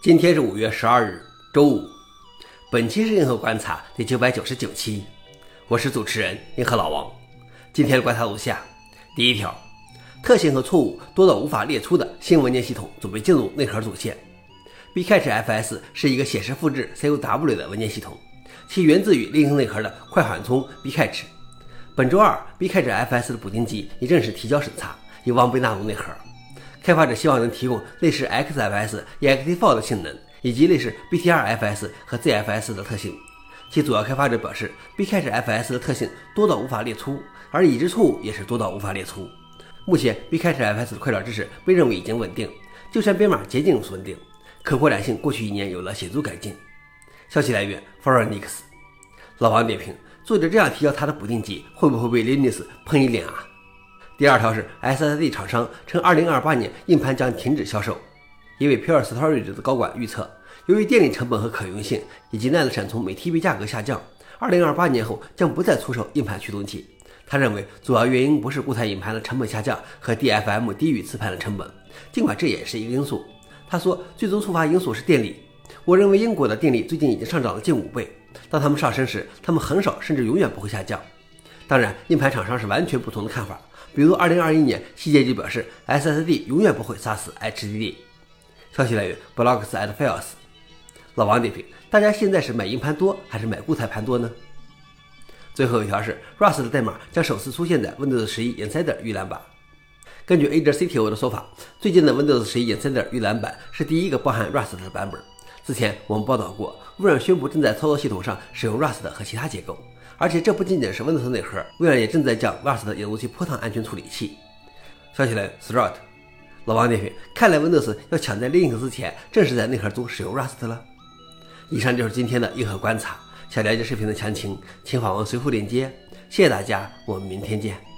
今天是5月12日，周五。本期是硬核观察第999期，我是主持人硬核老王。今天的观察如下：第一条，特性和错误多到无法列出的新文件系统准备进入内核组线。Bcache-fs 是一个显示复制 CUW 的文件系统，其源自于 Linux 内核的快缓冲 Bcache。本周二 Bcache-fs 的补丁集已正式提交审查，有望被纳入内核。开发者希望能提供类似 XFS、EXTFAW 的性能，以及类似 BTRFS 和 ZFS 的特性。其主要开发者表示 Bcache-fs 的特性多到无法列出，而已知错误也是多到无法列出。目前 Bcache-fs 的快照支持被认为已经稳定，就算编码接近稳定，可扩展性过去1年有了显著改进。消息来源 Forenix。老王点评：作者这样提交他的补丁集，会不会被 Linux 喷一脸啊？第二条是 SSD 厂商称2028年硬盘将停止销售。一位 Pure Storage 的高管预测，由于电力成本和可用性以及 NAND 闪存每 TB 价格下降，2028年后将不再出售硬盘驱动器。他认为主要原因不是固态硬盘的成本下降和 DFM 低于磁盘的成本，尽管这也是一个因素。他说最终触发因素是电力。我认为英国的电力最近已经上涨了近5倍，当它们上升时，它们很少甚至永远不会下降。当然，硬盘厂商是完全不同的看法。比如2021年，希捷就表示 SSD 永远不会杀死 HDD。消息来源 Blogs and Files。老王点评：大家现在是买硬盘多还是买固态盘多呢？最后一条是 Rust 的代码将首次出现在 Windows 11 Insider 预览版。根据 Azure CTO 的说法，最近的 Windows 11 Insider 预览版是第一个包含 Rust 的版本。之前我们报道过，微软宣布正在操作系统上使用 Rust 和其他结构。而且这不仅仅是 Windows 内核，微软也正在将 Rust 引入其波趟安全处理器。消息来源 Thread。老王点评：看来 Windows 要抢在 Linux 之前，正是在内核中使用 Rust 了。以上就是今天的硬核观察。想了解视频的详情，请访问随附链接。谢谢大家，我们明天见。